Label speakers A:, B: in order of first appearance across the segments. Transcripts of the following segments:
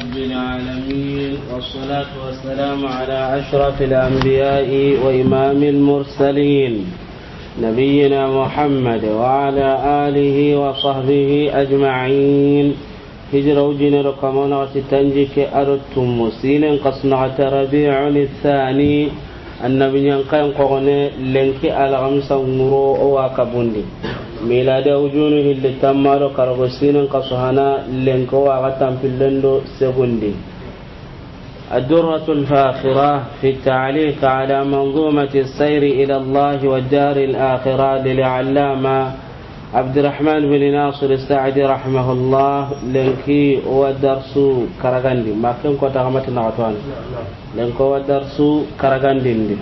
A: رب العالمين والصلاة والسلام على أشرف الأنبياء وإمام المرسلين نبينا محمد وعلى آله وصحبه أجمعين. هجر وجن رقمنا وستنجك أردتم مسين قصنعة ربيع الثاني النبي ينقين قغني لنك على غمسة مرو وكبندي ميلاد وجونه اللي تمارو كرغسين قصهنا لنك وغتم في اللندو سبندي. الدرة الفاخرة في التعليق على منظومة السير إلى الله والدار الآخرة للعلامة عبد الرحمن بن ناصر السعدي رحمه الله. لنكي ودرس كرغاندي ما كان كنت غمت نعطوان لنكو ودرس كرغاندي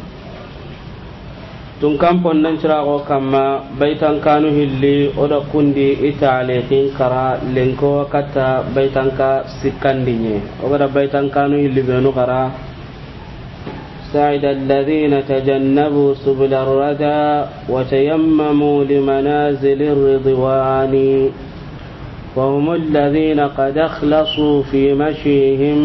A: tun kampon nan cirago kama baitan kanu hilli oda kundi italihin kara lenko kata baitan ka sikandinye oda baitan kanu hilli benu kara سعد الذين تجنبوا سبل الردى وتيمموا لمنازل الرضوان وهم الذين قد اخلصوا في مشيهم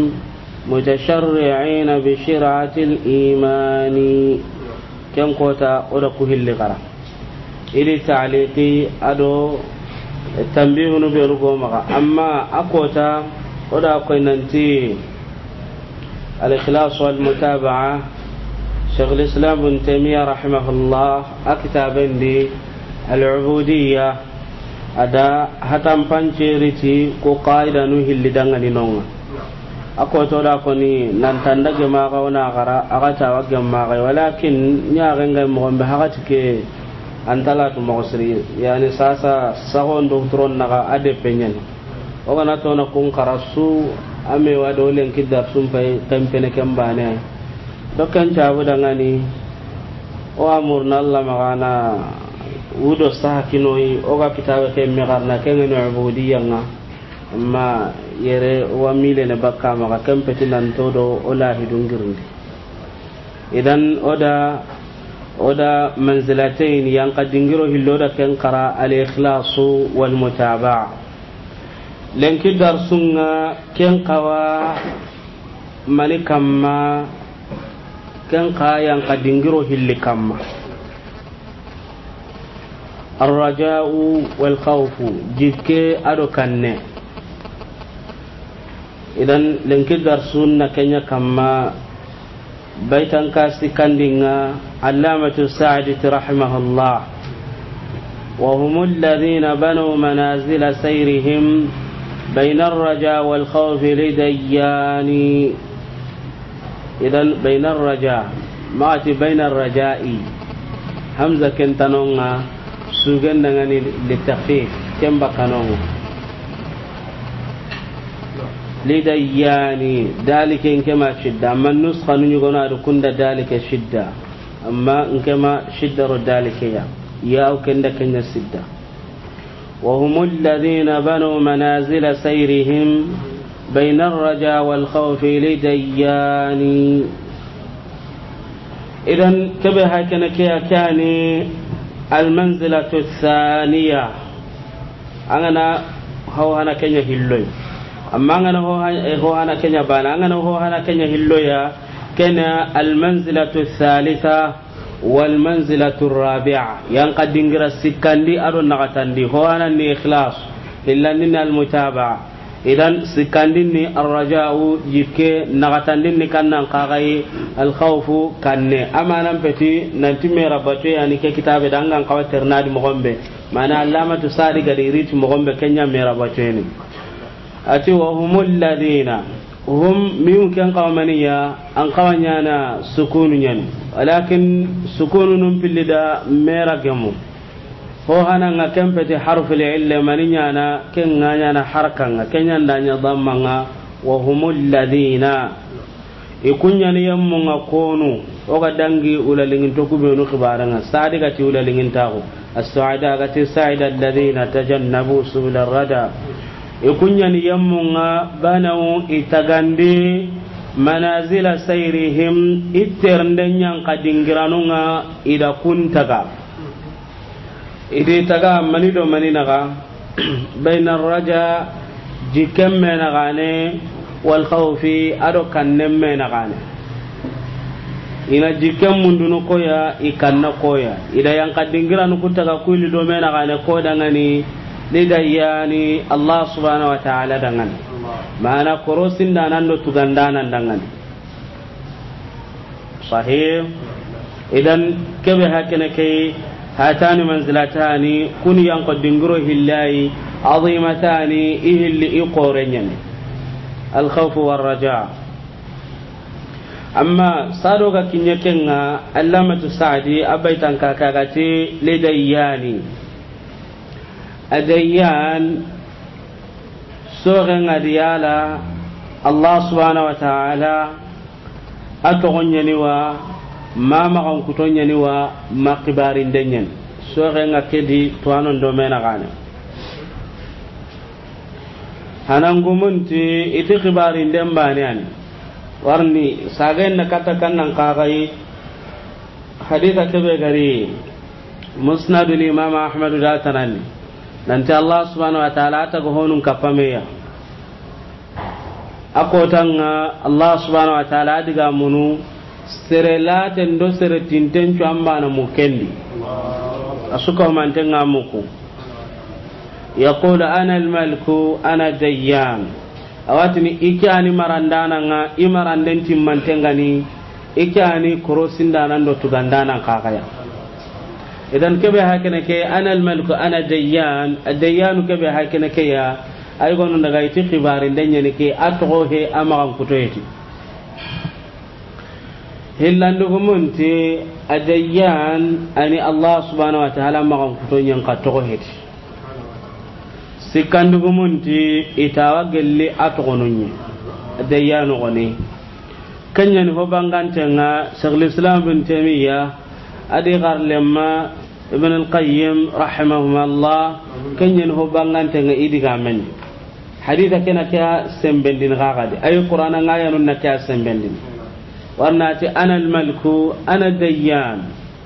A: متشرعين بشرعة الإيمان. كم قوتا أولا كهل غرا إلي تعليقي أدو التنبيه نبيرغو مغا أما أقوتا أولا قيننتي الإخلاص والمتابعة شيخ الإسلام بن تيمية رحمه الله أكتابين دي العبودية أدا هتم بانشيرتي كو قائدا نهل دنغني نونغ ako to da ko ni nan tanda ge ma ga wana gara aga ta wa ge ma ga walakin nya ga ngai mo be hagati ke antala to mo sri yani sasa sahon do tron naga ade penyen o gana to na kun karasu ame wa do len kidar sum pay tempene kembane do kan ta bu dangani o amurna Allah magana wudo sahakinoi o ga kitabe ke mi garna ke ngene ubudiyya nga amma yere wa mile ne bakka ma kan petinan todo ola hidungirndi idan oda manzilatayn yang kadingiro hilloda ken qara al ikhlas wal mutabaa lenki darsunga ken qawa malikamma ken qa yang kadingiro hillikamma الرجاء والخوف جيكي ادو kanne idan lenki darsunna kenya kama baitan kasi kandinga allamatu sa'di rahimahullah wa humul ladhina banu manazil sayrihim bayna ar-raja wal khawf lidayani. idan bayna ar-raja maati bayna ar-raja'i hamza kentanonga sugan dangani litakhfif kemba kanonga lidayani dalika inkema shidda amma nusxa nu nyugona do kunda dalika shidda amma inkema shidda ro dalika ya ukenda kenya shidda wa humul ladhina banu manazil sayrihim bayna ar-raja wal khawf lidayani. idan kabe hakana kani al-manzilatu ath-thaniya angana hawhana kenya hilloy amma ngana ho hana kenya bana ngana ho hana kenya hilloya kana al manzilatu thalitha wal manzilatu rabi'a yang kadingira sikandi ado nagatandi ho hana ni ikhlas illani al mutaba'a idan sikandi ni ar raja'u yike nagatandi ni kannan qagai al khawfu kanne amanan peti nanti mera bato yani ke kitabe dangan kawaternadi mo gombe mana allamatu sadi gadi riti mo gombe kenya mera bato ni ati wa humul ladina hum mimkan qawmaniya an qawanyana sukunun walakin sukunun filida meragamu ho hananga kempeti harful illa maninyana kenganya harkanga kenyanda nya dhammanga wa humul ladina ikunyani yammunga konu oga dangi ulalingin to kubenu khibaranga sadi gati ulalingin tago as-su'ada gati sa'ida alladhina tajannabu subul ar-rada ikunyani yammunga banaw itagande manazila sayrihim iterndenya kadingiranunga ida kuntaga ide taga maninaga bayna ar-raja jikemme nagane wal khawfi ado kannemme na gane ina jikam mundunu koya ikanna koya ida yang kadingira nu kutaga kuili do mena gane ko dangani lidayani Allah subhanahu wa ta'ala dangan mana korosin danan do tugandanan dangan sahih idan kebe hakene kay hatani manzilatani kun yang kadingiro hillahi azimatani ihilli iqorenyan al khawf war raja amma sadoga kinyekenga allamatu sa'di abaitan kakagati lidayani adayyan sorenga diyala Allah subhanahu wa ta'ala atogonyani wa mama kan kutonyani wa maqibarin denyen sorenga kedi tuanon do mena gane hanangumunti iti khibarin den banian warni sagen na katakan nan kagai haditha kebe gari musnad al-imam ahmad datanani nanti Allah subhanahu wa ta'ala ta go honun kapameya akotanga Allah subhanahu wa ta'ala diga munu serelaten do seretinten cu ambana mukendi asuka mantenga muku yaqulu ana al-maliku ana dayyan awatini ikani marandana nga imaranden timmantengani ikani korosindanan do tugandana kakaya idan kebe hakene ke ana al-maliku ana dayyan ad-dayyan kebe hakene ke ya ay gonu daga iti khibarin danyani ke atgo he amagan kutoyeti hillandu gumunti ad-dayyan ani Allah subhanahu wa ta'ala magan kutonyen katgo heti sikandu gumunti itawa gelli atgonunye ad-dayyan goni kanyan ho bangantenga Shaykhul Islam bin Taymiyyah adi garlemma ibn al-qayyim rahimahumullah kanyen ho bangantenga idiga men haditha kena kya sembendin gagade ay qur'ana ngayanun na kya sembendin warnati ana al-maliku ana dayyan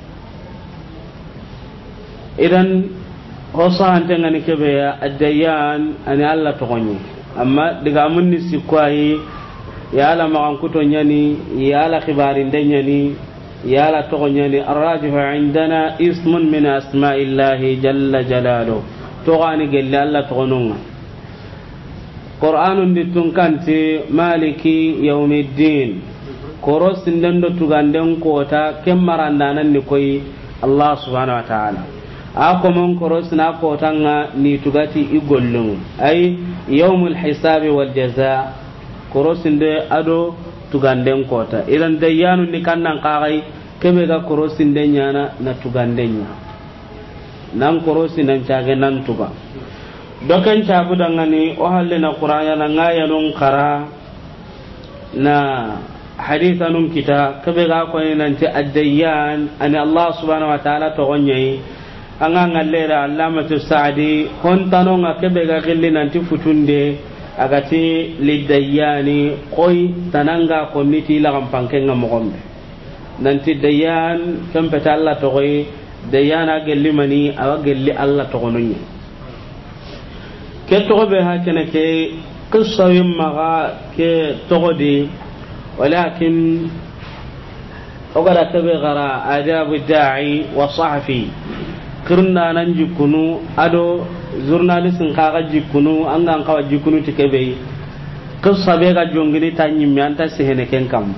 A: idan hosan tengani kebe ya ad-dayyan ani alla togonyi amma diga munni sikwai ya ala magan kutonyani ya ala khibarin danyani ya la togonyani arrajihu indana ismun min asma'illahi jalla jalaluhu togani gelle alla togonunga qur'anun ditunkanti maliki yawmiddin koros ndendo tuganden kota kemmarandanan ni koy Allah subhanahu wa ta'ala ako mon koros na kota nga ni tugati igollun ay yawmul hisabi wal jazaa koros nde ado tuganden kota idan dayyanu ni kannan qagai kebe ga korosin denyana na tugandenya nan korosin nan caage nan tuga dokan caabu dangani o halle na qur'ana na ngaya non qara na hadithanum kita kebe ga ko nan ti ad-dayyan ani Allah subhanahu wa ta'ala to gonyai anga ngallera allamatu sa'di hontano nga kebe ga gilli nan ti futunde agati lidayyani koy tananga komiti la kampankenga mogombe nanti dayyan kampeta Allah to koy dayyana gelli mani awa gelli Allah to gononye ke to be ha kene ke qissa yimma ke togodi walakin ogara tabe gara adabu da'i wa sahfi kirna nan jikunu ado journalistin kaga jikunu anga kawa jikunu tikebe qissa be ga jongini tanyi mi anta sehene ken kam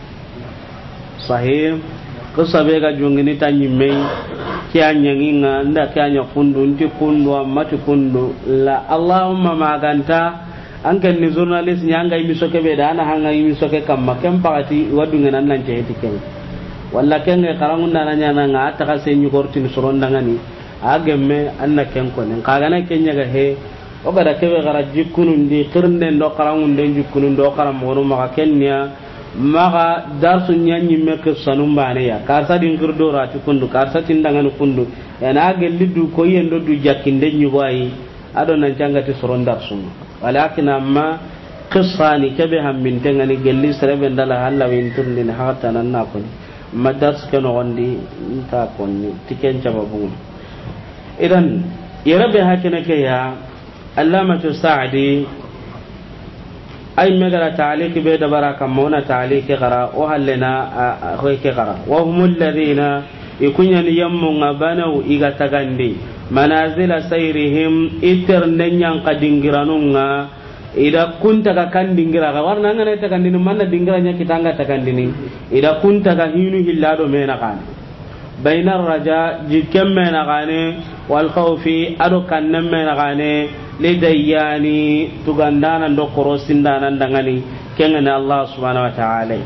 A: sahih qissa be ga jongini tanyi me kianya nginga nda kianya fundu nti fundu amati fundu la Allahumma maganta anken ni journalist nyanga imi soke be dana hanga imi soke kam makem pagati wadunga nan nan jeheti ken walla ken karangun nana nyana nga ta ka senyu kortin surondangani agemme anna ken ko nen kaga na kenya ga he o gada kebe gara jikunun di qirne ndo karangun den jikunun ndo karam wono maka kenya maka darsu nyanyi mek sanum bane ya karsa din kirdo rati kundu karsa tindangan kundu yana gellidu ko yendo du jakinde nyugo ay ado nan jangati surondar sum walakin amma qissani kebe ham min tengani gelli serebe ndala halla win tundin hatta nan na ko madars keno gondi ta konni tiken jababu idan yarabe hakene ke ya allamatu sa'di ay megara ta'liq be da baraka mona ta'liq qara o halena ho ke qara wa humul ladina ikunyani yammunga banau iga tagandi manazila sayrihim iternenyan kadingiranunga ida kunta ka kandingira ga warna ngana ta kandini manna dingiranya kitanga ta kandini ida kunta ka hinu hillado mena kan bainar raja jikem mena gane wal khawfi ado kannam mena gane lidayani tugandana ndo korosindana ndangani kengana Allah subhanahu wa ta'ala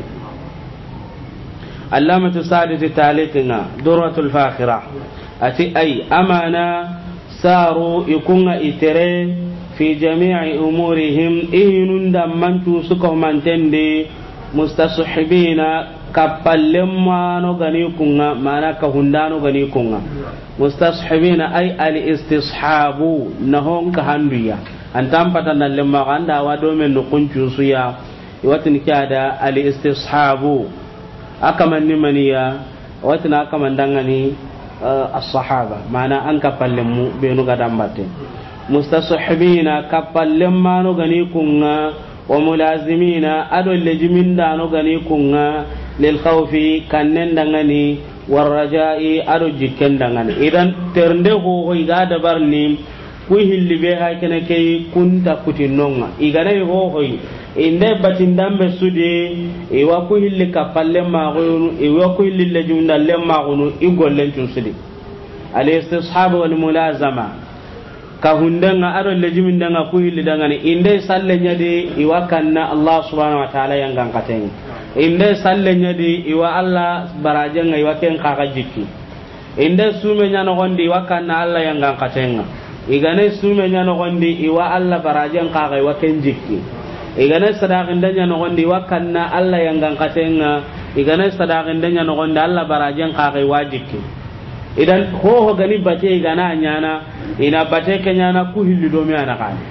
A: allamatu sadati taliqina durratul fakhira ati ay amana saru ikunga itere fi jami'i umurihim ihinun dammantu suko mantende mustasahibina kapallem no gani kunga mana ka hundano gani kunga mustasahibina ay al istishabu nahon ka handuya antam patana lemma ganda wado men no kuncu suya watin kada al istishabu akamanni maniya watina akamandangani as-sahaba mana an kapallemu benu gadambate mustasahibina kapallem no gani kunga wa mulazimina ado lejimin da no gani kunga lil khawfi kannen dangani war raja'i ado jikken dangani idan ternde ho iga dabarni ku hillibe ha kene kay kunta kutinonga igana ho inde batindambe sudi iwa ku hilli kapalle magunu iwa ku hilli lejunda le magunu igollen sudi al istishab wal mulazama ka hundanga ado lejimin danga ku hilli dangani inde salle nyadi iwa kanna Allah subhanahu wa ta'ala yang gangkaten inde salle nyadi iwa Allah barajenga iwa ken kaga jikki inde sume nyano gondi iwa kanna Allah yang gangkaten igane sume nyano gondi iwa Allah barajen kaga iwa ken jikki igane sadaqin danya no gondi wakanna Allah yang gangkatenga igane sadaqin danya no gondi Allah barajen kagai wajibki idan ho gani bate igana nyana ina bate kenyana ku hillido mi ana kan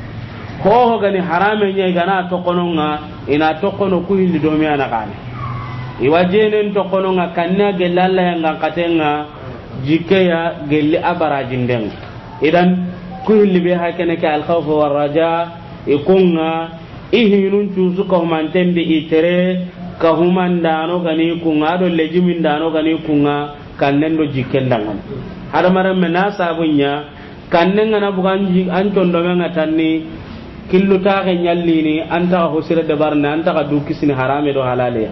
A: ho gani harame nya igana to kononga ina to kono ku hillido mi ana kan iwajenen to kononga kanna gella Allah yang gangkatenga jike ya gelli abarajin den idan ku hillibe hakene ka al khawf war raja ikunga ihinun cusu ka humantendi itere ka humandano gani kunga do lejimin dano gani kunga kannen do jikkendangan hada maram mena sabunya kannen ngana buganji an tondo menga tanni killu ta ga nyallini anta ho sira de barna anta ka du kisini harame do halaliya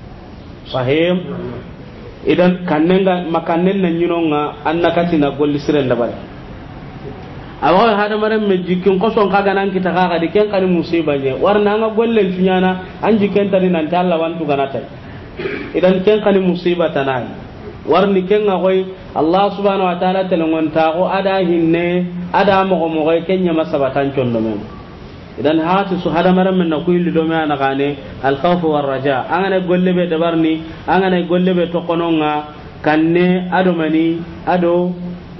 A: sahim idan kannen ga makannen nan nyinonga annakati na golli sira de bare awa hada maram me jikin koson kaga nan kita kaga de ken kan musiba je warna nga gollen tunyana an jiken tani nan talla wantu ganata idan ken kan musiba tanai warni ken nga koy Allah subhanahu wa ta'ala telongon ta ko ada hinne ada mo mo koy kenya masabatan condo men idan haatu su hada maram men na kuyli do me ana gane al khawf war raja angane golle be dabarni angane golle be to kononga kanne ado mani ado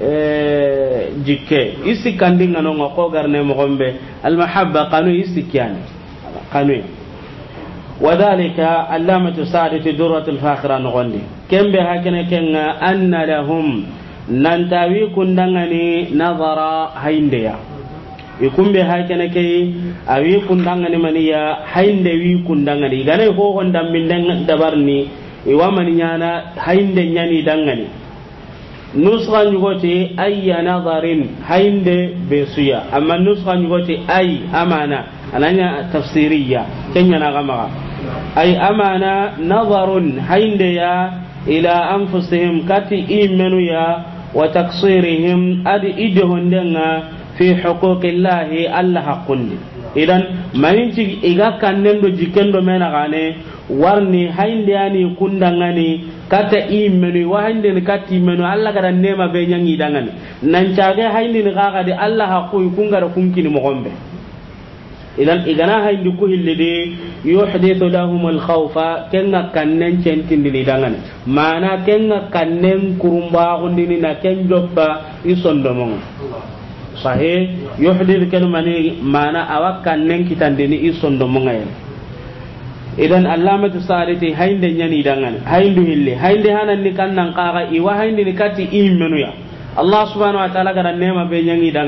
A: jikke isi kandinga no ko garne mo gombe al mahabba qanu isi kyani qanu wadhalika allamatu sa'adati durratul fakhira no gondi kembe hakene kenga anna lahum nantawi kundangani nazara haindeya ikumbe hakene kay awi kundangani maniya hainde wi kundangani gane ko gondam minden dabarni iwamani nyana hainde nyani dangani nusra nyugoti ayya nadarin hainde besuya amma nusra nyugoti ay amana ananya tafsiriya kenya na gama ay amana nadarun hainde ya ila anfusihim kati imenu ya wa taksirihim adi idhon denga fi huquqillahi alla haqqun idan maninci iga kannen do jikendo mena gane warni hainde yani kundangani kata imenu wa hainde ni kati imenu alla kada nema be nyangi dangani nan caage hainde ni gaga de alla haqqu kungara kunkini mo gombe idan igana hainde ku hillide yuhdithu lahum al khawfa kenga kannen centindini dangani mana kenga kannen kurumba gondini na ken joppa isondomon sahih yuhdithu kalmani mana awakkannen kitandini isondomon ngayen idan allamatu saliti hainde nyani dangan haindu hille hainde hanan ni kannan qaga iwa hainde ni kati imenu ya Allah subhanahu wa ta'ala gara nema be nyangi dangan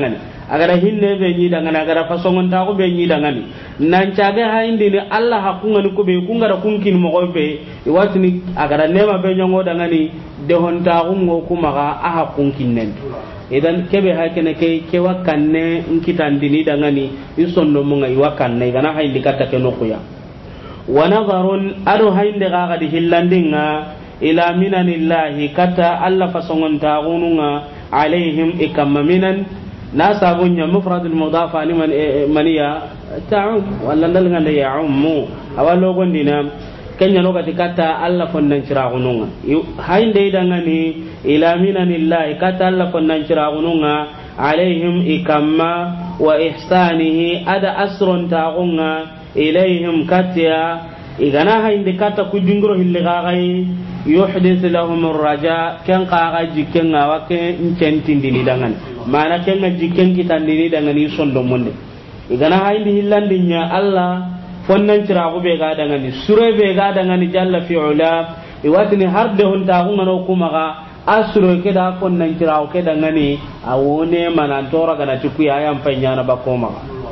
A: agara hinne be nyi daga na agara fasongon ta ko be nyi daga ni nan caga haindi ni Allah hakunga ni ko be kunga kunkin mo ko be iwatini agara nema be nyongo daga ni de hon ta ngo kuma ga aha kunkin nen idan kebe hakene ke wakanne nkitandini daga ni isondo mo ngai wakanne gana haindi kata ke nokuya wa nazarun adu hainde ga ga di hillandinga ila minanillahi kata Allah fasongon ta gununga alaihim ikamma minan nasabunya mufradul mudaf ani maniya ta'um walla ndalga ya ummu awalo gondina kenya no gati kata Allah fonnan ciragununga hainde idangani ila minanillahi kata Allah fonnan ciragununga alaihim ikamma wa ihsanihi ada asrun ta'unga ilaihim katya igana hainde kata kujungro hilgagai yuhdith lahum ar-raja kan qaga jikken awake incentindini dangan mana kenga jikken kitandini dangan isondo monde igana hainde hillandinya Allah fonnan cirago be ga dangani sure be ga dangani jalla fi ula iwatini harde honta ko ngano kuma ga asro ke da fonnan cirago ke dangani awone manan tora gana tuku ya yam panyana bakoma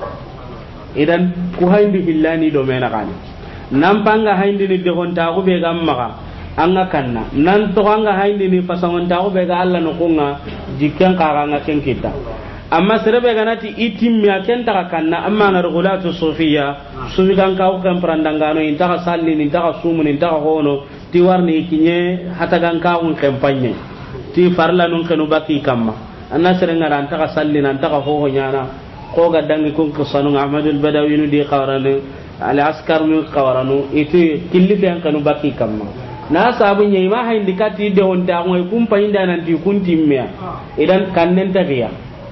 A: idan ku hainde hillani do mena kani nan panga hainde ni de honta ko be ga maga anga kanna nan to anga hainde ni fasangon ta ko be ga Allah no kunga jikken kaga nga ken kita amma serebe ganati itimmi akenta kanna amma na regulatu sufiya sufi kan ka kan prandangano inta salli ni inta sumu ni inta hono ti warni kinye hata kan ka un kampanye ti farla nun kanu baki kamma anna serenga ran ta salli nan ta ho nyana ko ga dangi kun ko sanu ahmadul badawi nu di qawaranu al askar nu qawaranu itu killi ben kanu baki kamma na sabu nyai ma haindi kati de on ta ngoy kum payinda nan ti kun timmya idan kannen ta riya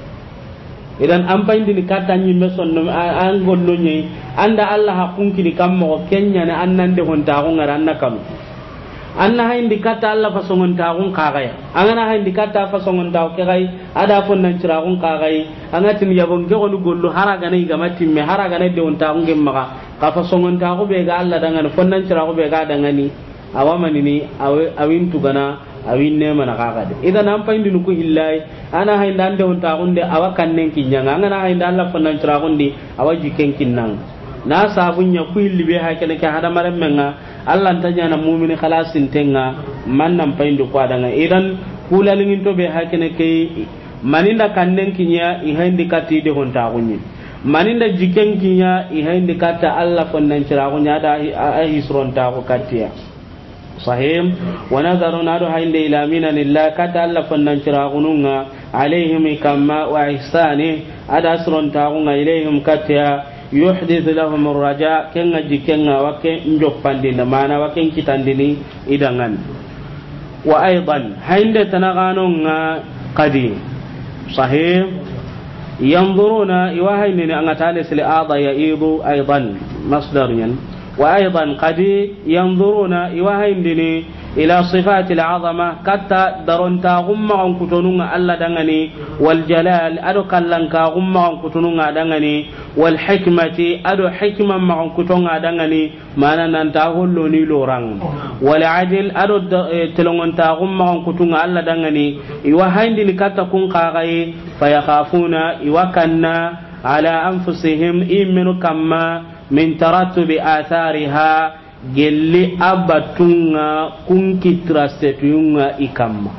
A: idan an payindi ni kata nyi meson no an gollo nyai anda Allah hakunki di kammo kenya na annan de on ta ngara annakam anna haindi kata Allah fasongon ta gun kagaya angana haindi kata fasongon ta ke gai ada fon nan cira gun kagai angatin yabon ge gonu gollo haraga nei ga matimme haraga ne de on ta gun gemma ka fasongon ta go be ga Allah dangan fon nan cira go be ga dangani awamani ni awin tugana awin ne mana kaga de idan an payindi ku hillai ana hainda ande on ta gunde awakan nen kinyanga ana hainda Allah fannan tira gundi awaji ken kinnan na sabunya ku hilli be ha kene ka hada maram menga Allah tanya na mu'mini khalasin tenga man nan payindi ku adanga idan kulalingin to be ha kene ke maninda kannen kinya i haindi kati de on ta gunni maninda jiken kinya i haindi kata Allah fannan tira gunya da hisron ta ko katiya صحيح ونظرنا له عند إلى من الله كتألف النشراغنون عليهم كما وإحسانه أدسر تاغون إليهم كتيا يحدث لهم الرجاء كن جكنا وكن نجفان دين معنا وكن كتان دين إدغان وأيضا عند تنغانون قديم صحيح ينظرون يوهينني أن تالس لآضا يئيض أيضا مصدر وأيضا قد ينظرون يوهينني إلى صفات العظمة كتا درونتا غم عن كتنون ألا دغني والجلال أدو كلنكا غم عن كتنون دغني والحكمة أدو حكمة مع كتنون دغني ما ننتاهلوني لوران والعدل أدو تلونتا غم عن كتنون ألا دغني يوهينني كتا كون قاغي فيخافون يوكنا على أنفسهم إيمنوا كما من ترتب آثارها gelli abatunga kunkitrasetunga ikamma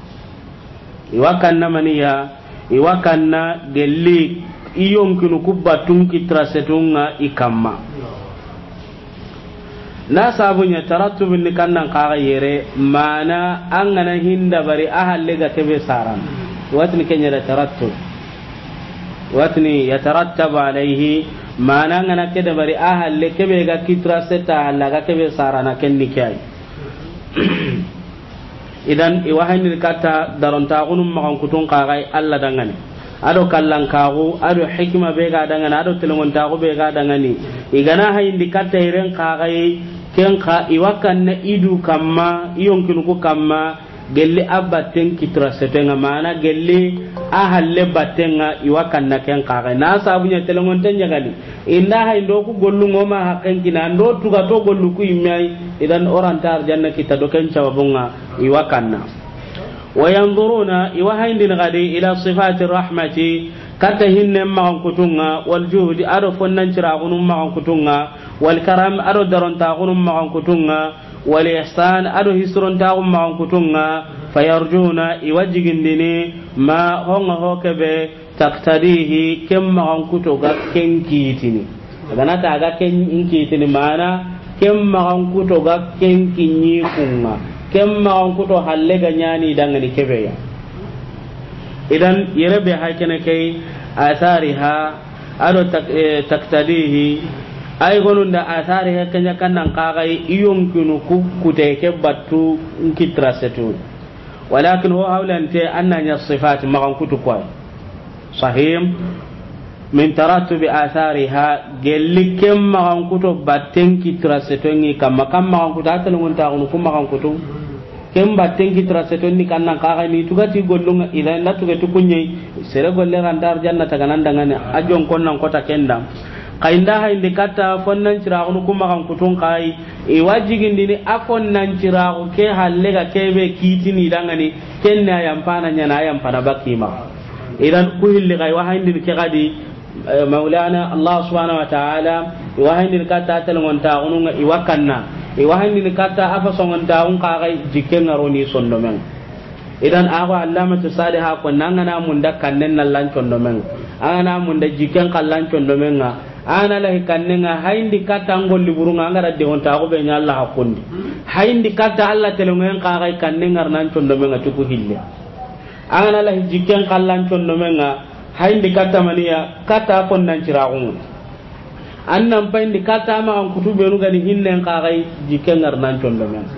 A: iwakanna maniya iwakanna gelli iyonkinu kubatun kitrasetunga ikamma na sabunya tarattubu ni kannan kaga yere mana angana hinda bari ahalle ga tebe saran watni kenya da tarattub watni yatarattabu alayhi mana ngana kede bari ahalle kebe ga kitra seta halaga kebe sarana kenni kai idan iwahani kata daronta gunum makan kutun kagai alla dangane ado kallan kagu ado hikma be ga dangane ado telongon ta go be ga dangane igana hayndi kata iren kagai ken ka iwakan na idu kamma iyonkinu ko kamma gelli abaten kitra setenga mana gelli ahalle batenga iwakan na ken kaga na sabunya telongon tanya gali inna hay ndo ku gollu ngoma hakken kina ndo tuga to gollu ku imai idan orantar janna kita do ken cawabunga iwakan na wayanzuruna iwahindin gadi ila sifati rahmati kata hinne magan kutunga wal juhdi ado fonnan cira gunum magan kutunga wal karam ado daron ta gunum magan kutunga wal ihsan ado hisron ta gunum magan kutunga fayarjuna iwajigindini ma honga hokebe taktadihi kem magan kutoga kenkitini dana ta ga kenkitini mana kem magan kutoga kenkinyi kunga kem magan kuto halle ga nyani dangani kebeya idan yerebe hakene kai athariha ado taktadihi ay gonunda athariha kanya kannan qagai iyonkinu kuteke battu nkitrasetu walakin huwa hawlante annanya sifat magan kutu kwa sahim min tarattubi athariha gellikem magan kutu batten kitrasetu ngi kamma magan kutu atalungun taunu kum magan kutu kem batten kitrasetu ni kannan qagai ni tugati gollunga idan la tugati kunyi sere golle randar janna taganan dangane ajon konnan kota kendam kainda ha indi kata fonnan ciragu kuma kan kutun kai e wajigin dini afon nan ciragu ke halle ga kebe kitini dangani kenna yampana nyana yampana bakima idan ku hilli kai wa hindi ke gadi maulana allah subhanahu wa ta'ala wa hindi kata talon ta ununga iwakanna wa hindi kata afa songon ta un kai jikken aroni sondomen idan awa allamatu salihah ko nangana mun da kannen nan lan condomen ana mun da jikken kallan condomen ana lahi kannenga hayndi kata ngol liburunga ngara de honta ko be nyalla hakundi hayndi kata alla telongen qaray kannenga nan condo menga tuku hille ana lahi jikken kallan condo menga hayndi kata maniya kata kon nan ciragun annan payndi kata ma an kutube nu gani hinnen qaray jikken ngar nan condo menga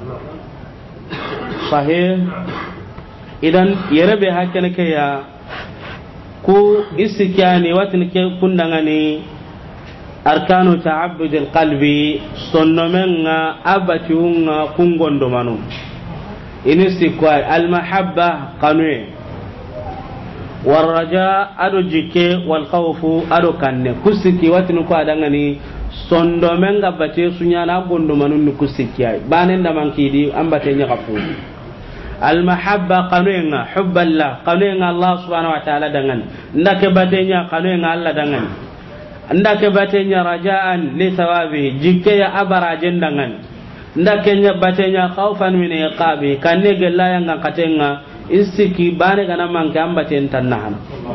A: sahih idan yerebe hakene ke ya ku istikyani watin ke kundangani arkanu ta'abbud alqalbi sonnomenga abatiunga kungondo manu inistikwai almahabba qanwe warraja ado jike wal khawfu ado kanne kusiki watin ko adangani sondomenga bate sunyana gondo manu ni kusikyai banen da mankidi ambate nya kafu المحبة قانونا حب الله قانونا الله سبحانه وتعالى دعنا عندك باتنيا قانونا الله دعنا عندك باتنيا رجاء لثوابه جكيا أبراجن دعنا عندك باتنيا خوفا من عقابه كان يقول لا ينعم كتينا استكي بانك أنا من كم باتين تنهن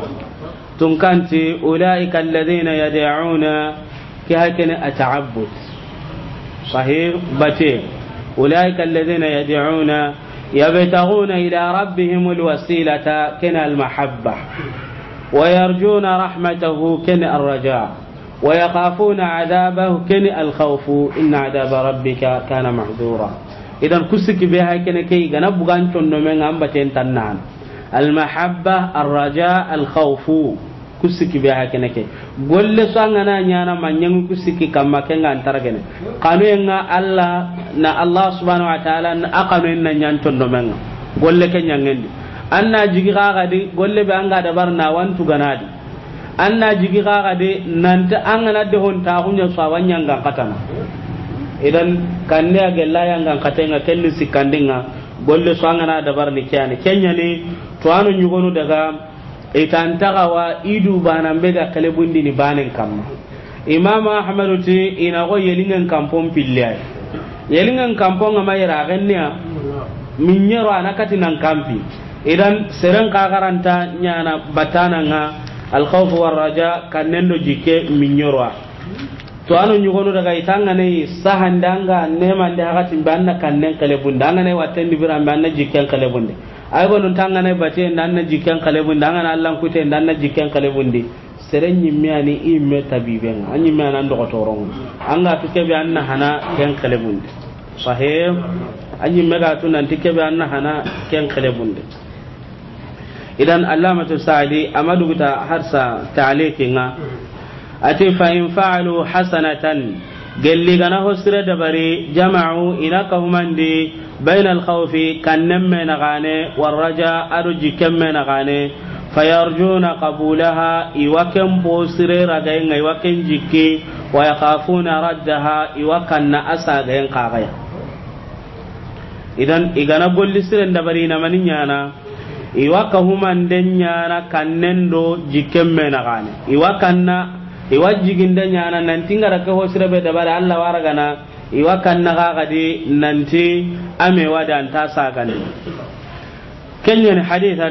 A: تنكنتي أولئك الذين يدعون كهكذا التعبد صحيح باتين أولئك الذين يدعون يبتغون إلى ربهم الوسيلة كن المحبة ويرجون رحمته كن الرجاء ويخافون عذابه كن الخوف إن عذاب ربك كان محذورا إذا كسك بها كن كي جنبغان تنمن أمبتين تنان المحبة الرجاء الخوف كسك بها كن كي قل سانغنا نيانا من ينو كسك كما كن أنترجن قالوا إن الله سبحانه وتعالى أقنوا إن ينتون دمنا قل لك ينعندي أنا جيغا غادي قل لي بأنغا دبرنا وانتو غنادي أنا جيغا غادي نانت أنغنا دهون تاغون يسوان ينغا قتنا إذن كان لي أجل لا ينغا قتنا كل سكاندينا قل لي سوانغنا دبرني كياني كياني توانو نيغونو دغا itantaga idu bana mbega kalebundi ni banen kamma imam ahmad ti ina go yelingen kampon pillay yelingen kampon ma yara gannya minyero anakati nan kampi idan seren ka garanta nyana batana nga al khawf war raja kanendo jike minyero to anu nyugono daga itanga ne sahandanga nema nda hakati banna kannen kalebundi anga ne watendi birambe anna jike kalebundi ay gonon tangane bate ndanna jikken kalebun dangana Allah kute ndanna jikken kalebundi seren nyimmiani imme tabiben anyimmi anan do toron anga fike bi anna hana ken kalebundi sahih anyimme ga tunan tike bi anna hana ken kalebundi idan allamatu sa'di amadu ta harsa ta'liqinga ati fa in fa'alu hasanatan gelli gana hosire dabari jama'u inaka humandi بين الخوف كنم من غاني والرجاء أرجي كم من غاني فيرجون قبولها إوكم بوسري رجعين إوكم جكي ويخافون ردها إوكن أساعين قاغيا إذن إذا نقول لسرن دبرين منيانا iwa ka humandenya na kannendo jikemme na gane iwa kanna iwa jigindenya na nanti ngara ka hosirabe dabare Allah waragana iwa kanna ga gadi nanti ame wada anta sagane kenyen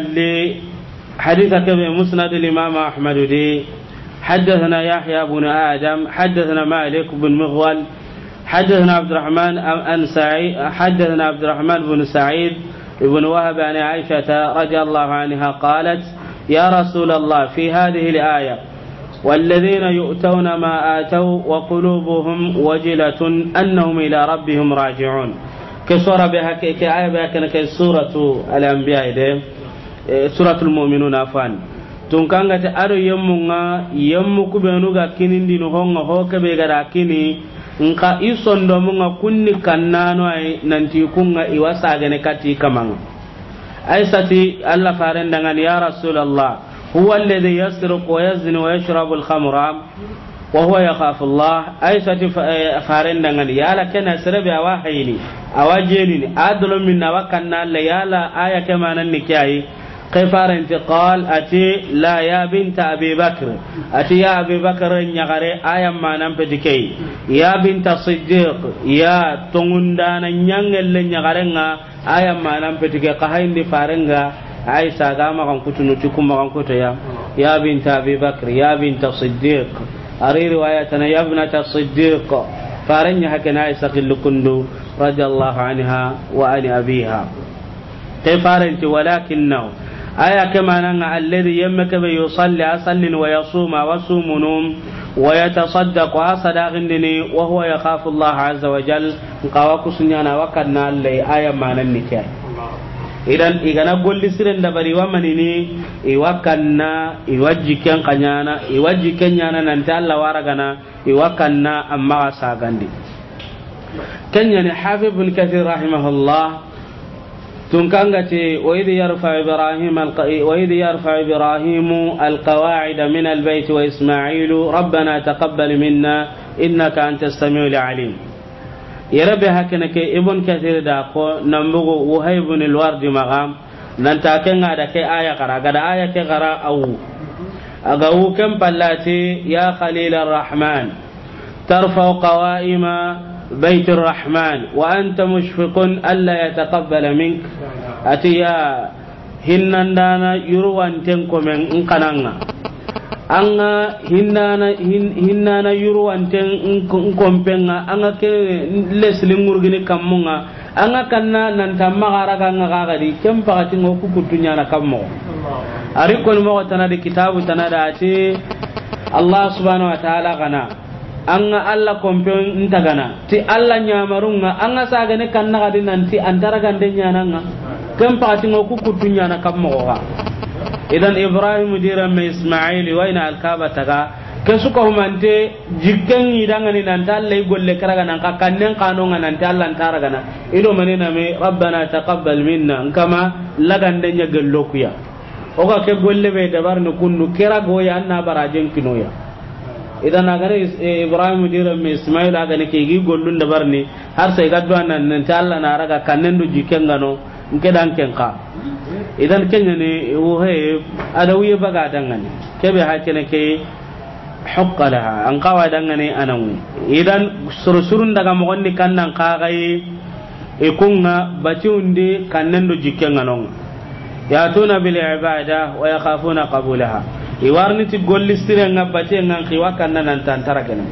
A: haditha kabe musnad al-imam ahmad di حدثنا يحيى بن آدم حدثنا مالك بن مغول حدثنا عبد الرحمن عن سعيد حدثنا عبد الرحمن بن سعيد ابن وهب عن عائشة رضي الله عنها قالت يا رسول الله في هذه الآية والذين يؤتون ما آتوا وقلوبهم وجلة أنهم إلى ربهم راجعون كسورة بها كآية بها كسورة الأنبياء سورة المؤمنون أفان tunkanga ta aro yemmunga yemmu kubenuga kinindi no honga hoke be gara kini nka isondo munga kunni kannano ay nanti kunga iwasa gane kati kamanga aisati alla farendangan ya rasulullah huwa alladhi yasriqu wa yazni wa yashrabu al-khamra wa huwa yakhafu Allah aisati farendangan yala kana sirabi awahini awajeni adlo minna wakanna la yala aya kamanan nikai كفار انتقال أتي لا يا بنت أبي بكر أتي يا أبي بكر نغري آية ما نمبتكي يا بنت الصديق يا تغندان نيانجل نغرينا آية ما نمبتكي قهين دي فارنغا عيسى غاما غنكتو نتكم غنكتو يا بنت أبي بكر يا بنت الصديق أري روايتنا يا ابنة الصديق فارنغا هكذا عيسى قل كندو رضي الله عنها وأن أبيها كفار انت ولكنه aya kama nan alladhi yammaka bi yusalli asallin wa yasuma wa sumunum wa yatasaddaqu asadaqin dini wa huwa yakhafu Allah azza wa jal qawa kusunyana wa kanna allai aya manan nike idan igana golli siren da bari wa manini iwakanna iwajiken kanyana iwajiken nyana nan ta Allah waragana iwakanna amma sagandi kanya ni Habib ibn Kathir rahimahullah تنكنغتي وإذ يرفع إبراهيم القواعد من البيت وإسماعيل ربنا تقبل منا إنك أنت السميع العليم يربي هكذا ابن كثير داقو نمبغ وهيب الورد مغام ننتاكن هذا كي آية قرأ قد آية كي قرأ أو كم بلاتي يا خليل الرحمن ترفع قوائم بيت الرحمن وأنت مشفق ألا يتقبل منك أتيا هنندانا يروان تنكو من انقنانا أنا هنانا يروان تنكو مبنغا أنا لسلين مرغني كمونا أنا كنا ننتمى غارغا غاغدي كم فغتين وكوكو دنيانا كمو أريكم موغتنا دي كتاب تناداتي الله سبحانه وتعالى غنا anga alla kompen ntagana ti alla nyamarunga anga sagane kanna gadi nanti antara gande nyananga kam pati ngoku kutunya na kammo ga idan ibrahim dira me ismail wa ina alkaba taga kesuko humante jiggen idanga ni nan dalle golle karaga nan kannen kanonga nan dalla antara gana ido manena me rabbana taqabbal minna kama lagande nya gellokuya o ga ke golle be dabar no kunnu kerago ya anna barajen kinoya idan agare ibrahim dira me ismail aga ne ke gi gollun da barni har sai gaddo nan ta Allah na raga kannen do jikenga no nke dan kenka idan kenya ne wo he adawiye baga dangane kebe hakene ke huqqalaha an qawa dangane anawi idan sursurun daga mo gonni kannan kagai e kunga batiunde kannen do jikenga no ya tuna bil ibada wa yakhafuna qabulaha iwarni ti golli sire ngabate ngan khiwa kanna nan tantara kenan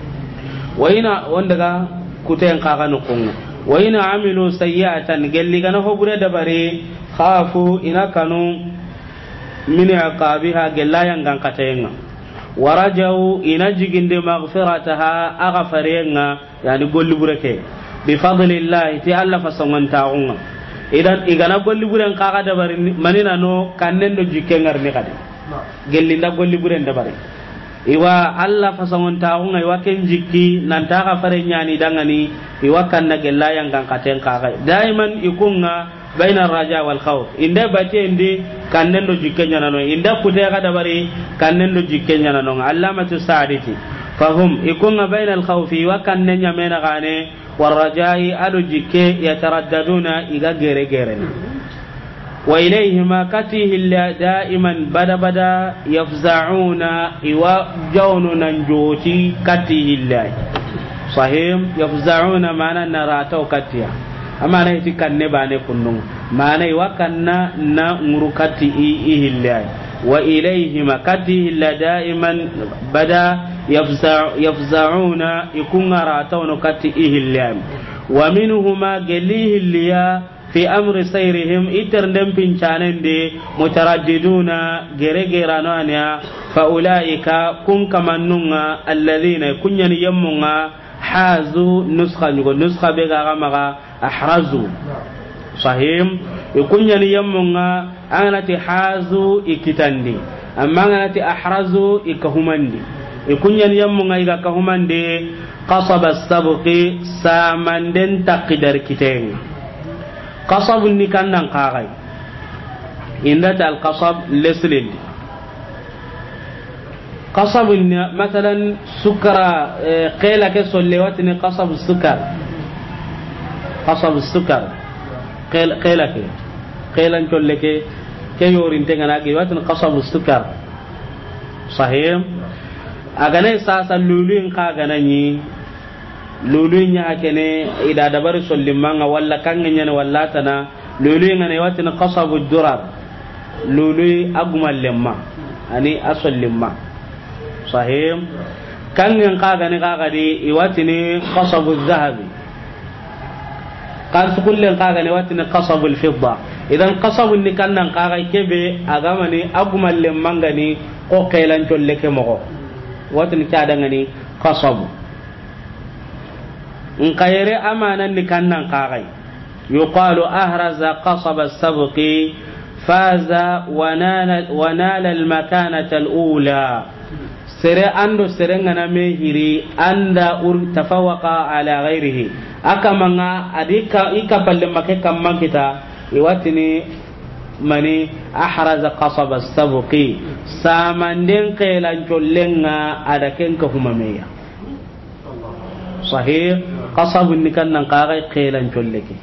A: wayna wondaga kuten kaga no kunga wayna amilu sayyatan gelli gana hobure da bare khafu ina kanu min aqabiha gellayan gan katenga warajau ina jiginde maghfirataha aghfarenga yani golli bureke bi fadlillah ti alla fasongantaunga idan igana golli buren kaga da bare manina no kannen do jikengar ni kadi gellinda golli buren da bare iwa alla fasangon taunga iwa ken jikki nan ta ga fare nyani dangani iwa kanna gella yang kan katen kaga daiman ikunga baina raja wal khawf inda bate indi kannen do jikke nyana no inda kude ga da bare kannen do jikke nyana no allamatu sa'idati fahum ikunga baina al khawf wa kannen nyamena gane war rajai alu jikke yataraddaduna iga gere gere wa ilayhima katihi da'iman bada yafza'una iwa jawnunan joti katihi sahim yafza'una mana narata katiya amma na hiti kanne bane kunnun mana iwa kanna na ngurukati ihillai wa ilayhima katihi da'iman bada yafza'una ikungarata kati ihillai wa minhuma galihi liya fi amri sayrihim itarndem pincanen de mutaraddiduna geregerano anya fa ulaika kun kamannunga alladhina kunyani yammunga hazu nuskha nyugo nuskha be ga maga ahrazu sahim kunyani yammunga anati hazu ikitandi amma anati ahrazu ikahumandi kunyani yammunga iga kahumande qasaba as-sabqi samanden taqdar kitenga qasab ni kannan qaray indata al-qasab leslil qasab مثلا سكر قيل كسلواتني قصب السكر قصب السكر قيل ان تقول كي يورين تنغنا واتن قصب السكر صحيح agane sasa luluin ka ganani luluin ya kene ida dabar sollimanga walla kangenya walla tana luluin ne watin qasabu durar lului agumal lemma ani asollimma sahih kangen ka gane ka gadi iwatini qasabu dhahabi kan kullen ka gane watini qasabu alfidda idan qasabu ni kannan ka ga kebe agamani agumal lemma ngani ko kailan tolle ke mo watin kadangani qasabu in kayere amanan ni kannan qagai yuqalu ahraza qasaba as-sabqi faza wa nala al-makanata al-ula sere ando sere ngana mehiri anda tafawaqa ala ghairihi akamanga adika ikapalle make kamman kita iwatini mani ahraza qasaba as-sabqi samanden qelan chollenga adaken ka humameya sahih qasabun nikannan qaga qelan cholleke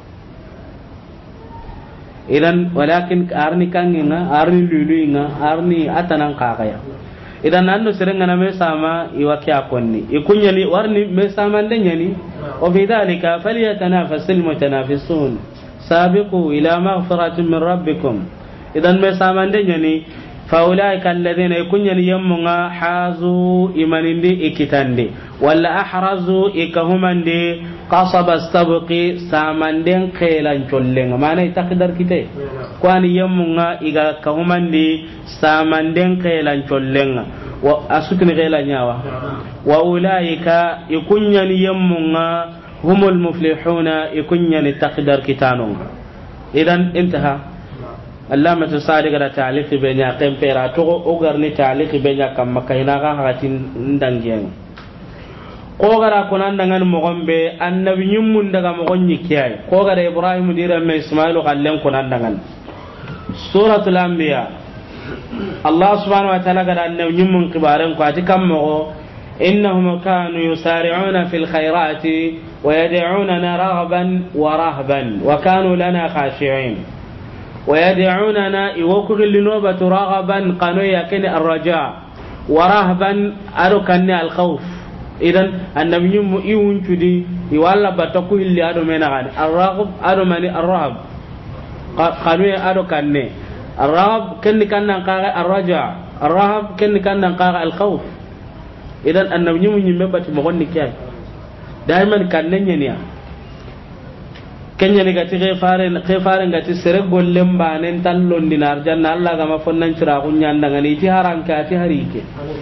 A: idan walakin arni kanginga arni luluinga arni atanan qaga ya idan anno serenga na me sama iwaki akonni ikunyani warni me sama ndanyani wa fi dhalika falyatanafasul mutanafisun sabiqu ila maghfiratin min rabbikum idan me samandenya faulaika alladhina yakunyani yammunga hazu imanindi ikitande walla ahrazu ikahumande qasaba as-sabqi samanden qelan chollenga mana takdar kite kwani yammunga iga kahumandi samanden qelan chollenga wa asukni qelan nyawa wa ulaika yakunyani yammunga هم المفلحون يكون تقدر كتانون إذن انتهى اللامة الصادق تعليق بين يقيم فيراتو أغرني تعليق بين يقيم مكينا غاهاتين ندنجين قوغرا كنان دنgan mogombe annabi nyummun daga mogonni kiyai qogara ibrahim dira me ismailu kallen kunan dangan suratul anbiya allah subhanahu wa ta'ala gara annabi nyummun kibaren ko atikam mo إنهم كانوا يسارعون في الخيرات ويدعوننا رغبا ورهبا وكانوا لنا خاشعين ويدعوننا يوكل لنوبة رغبا قانوا يكن الرجاء ورهبا أركني الخوف إذن النبي يون تدي يوالا بتقول اللي أدو من غني الرغب أدو من الرهب قانوا أركني الرغب كن كان الرجاء الرهب كن كان الخوف idan annabi mun yimme bati mo gonni kay daiman kannenya niya kenya ni gati khefare ngati sere gollem banen tallon dinar janna Allah ga ma fonnan cira kunya ndangani ti haran ka ti harike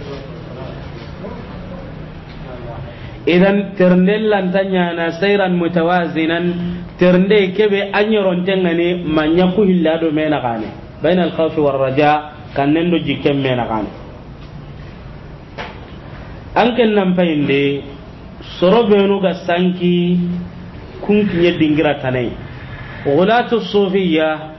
A: idan ternellan tanya na sayran mutawazinan ternde kebe anyoron tengani manya ku hillado mena gane bainal khawfi war raja kannendo jikem mena gane anken nan payinde sorobenu ga sanki kun kinye dingira tanai ghulatu sufiyya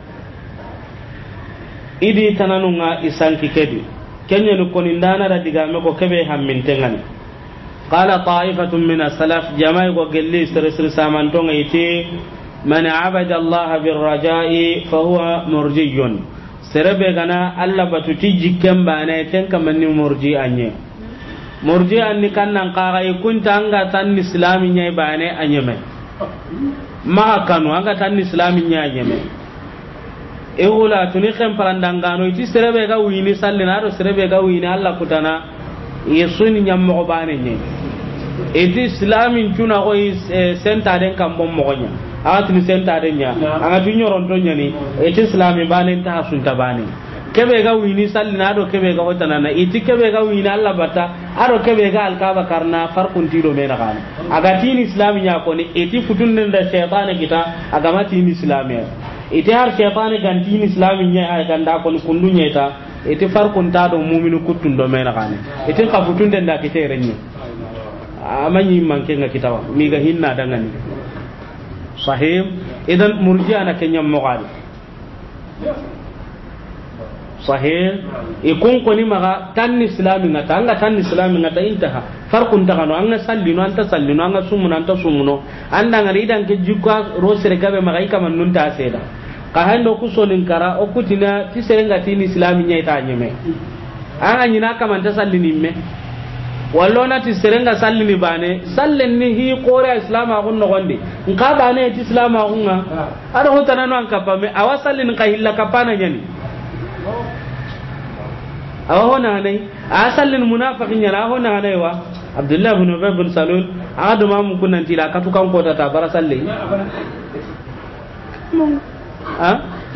A: idi tananunga isanki kedi kenya ni konindana da digame ko kebe hammintengan qala ta'ifatun min as-salaf jama'i go gelli sir samantonga ite man abada Allah birraja'i fa huwa murjiyun serebe gana Allah batuti jikken bana ken kamanni murji anye murji anni kannan qaga kunta anga tan islami nyai bane anyeme ma kanu anga tan islami nyai anyeme e wala tuni kan parandangano iti serebe ga wini sallina do serebe ga wini Allah kutana yesuni nyammo bane nye iti islamin tuna ko senta den kam bom mogonya atini senta den nya anga tunyoron to nyani iti islami bane ta sunta bane kebe ga wini sallina do kebe ga hotana na iti kebe ga wini Allah bata ado kebe ga alkaba karna farqun tido mena kana aga tin islami nya ko ni iti futun da shaytan kita aga mati ni islami iti har shaytan gan tin islami nya ay ganda ko kundunya ta iti farqun ta do mu'minu kutun do mena kana iti ka futun da kite renye amanyi manke nga kitawa mi ga hinna dangani sahih idan murji'a na kenya mogadi sahih ikun koni maga tan islami ngata anga tan islami ngata intaha farqun tagano anga sallino anta sallino anga sumuno anta sumuno anda ngari dan ke jukka rosere gabe maga ikama nunta seda ka hando kusonin kara okutina tisenga tin islami nyaita nyeme anga nyina kama anta sallini me wallona ti serenga sallini bane sallen ni hi qora islam agun no gonde nka bane ti islam agunga ada hotana no an kapame awa sallin ka hilla kapana nyani awa hona nay a sallin munafiqin yana hona nay wa abdullah ibn ubay ibn salul adu ma mun kunan tila katu kan ko ta bara salle ha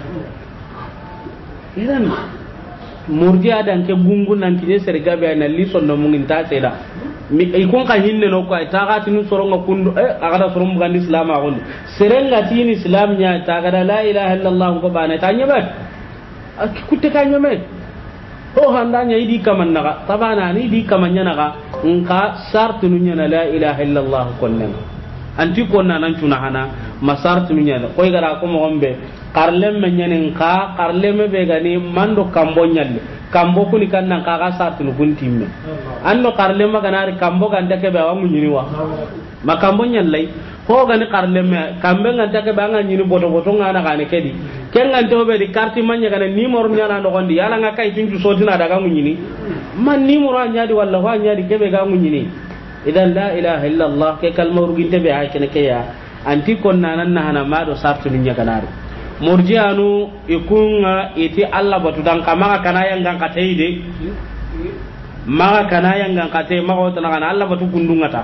A: idan murji'a dan ke gungun nan kine serga be na lison no mungin ta seda mi ay kon ka hinne no ko ta ga tinu soronga kundu agada sorom gan islam agun serenga tin islam nya ta ga la ilaha illallah ko bana ta nyaba kutte ka nyame o handa nya idi kaman naga tabana ni idi kaman nya naga nka sartu nya la ilaha illallah konnen anti konna nan tuna hana masartu nya ko gara ko mo gombe karlem men nyanin ka karlem be gani mando kambo nyalle kambo kuni kannan ka ga sartu no guntimme anno karlem ganari kambo ganda ke be wangu nyini wa makambo nyalle ko gani karlem kambe nganta ke banga nyini boto boto ngana gane kedi kengan to be di karti manya gana ni mor nyana no gondi yala nga kai tunju sotina daga nyini man ni mor anyadi walla wa anyadi ke be ga nyini idan la ilaha illa allah ke kalmar ginte be ha kene ke ya anti konna nan na hana mado sartu nya ganari murji'anu ikunga iti Allah batu dan kama kana yang gang kateide maka kana yang gang kate maka wotana kana Allah batu gundunga ta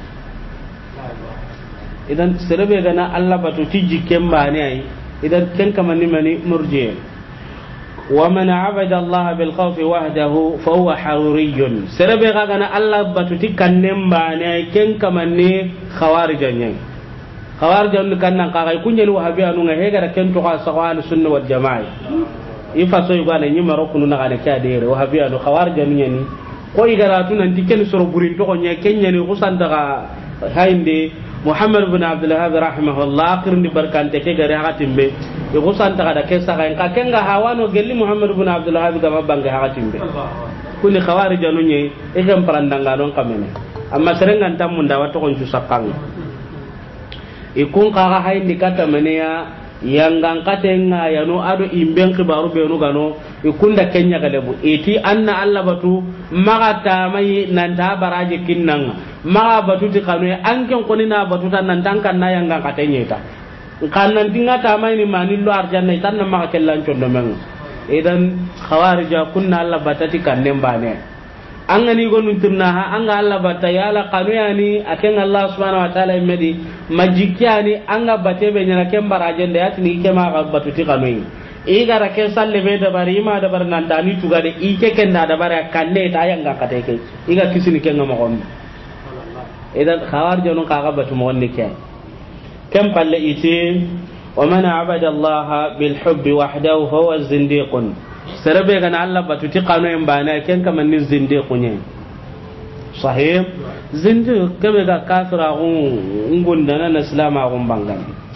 A: idan serebe gana Allah batu tiji kemba ne ai idan ken kamani mani murji' wa man abada Allah bil khawf wahdahu fa huwa haruriyun serebe gana Allah batu tikannemba ne ai ken kamani khawarijan khawarjan kan nan kaga kunyel wahabi anu nga hega ken to ka sawal sunna wal jamaa ifa so yugo na nyima rokunu na kana kya dere wahabi anu khawarjan nyani ko igara tu nan diken soro burin to nya kenya ni kusan daga hainde muhammad ibn abdul wahhab rahimahullah kirni barkante ke gare hakatimbe e kusan daga da kesa kan ka kenga hawano gelli muhammad ibn abdul wahhab ga mabanga hakatimbe kuni khawarjan nyi e gam parandanga non kamene amma serengan tamunda wato kon jusakang ikun kaga hayndi kata meneya yangan katenga yano ado imben kibaru be no gano ikunda kenya galebu eti anna alla batu maga tamai nan ta baraje kinnan maga batu ti kanu anken konina batu tan nan tankan na yangan katenya ta kan nan tinga tamai ni manillo arjanna tan na maga kellan condo men idan khawarija kunna alla batati kannen bane an gani gonun tunna ha an ga Allah bata ya la kanu yani aken Allah subhanahu wa ta'ala imedi majikyani an ga bate be nyana ken barajen da yatini ke ma ga batu ti kanu e gara ke salle be da bari ma da bar nan dani tuga de ike ken da bara kanne ta yang ga kate ke iga kisini ken ma gon idan khawar jonon ka ga batu mo wonni ke kem palle ite wa man abada Allah bil hubbi wahdahu huwa zindiqun sarabe kana Allah batu ti kanu en bana ken kaman ni zindiqu nye sahih zindiq kebe ga kafira ngunda na islama gon bangan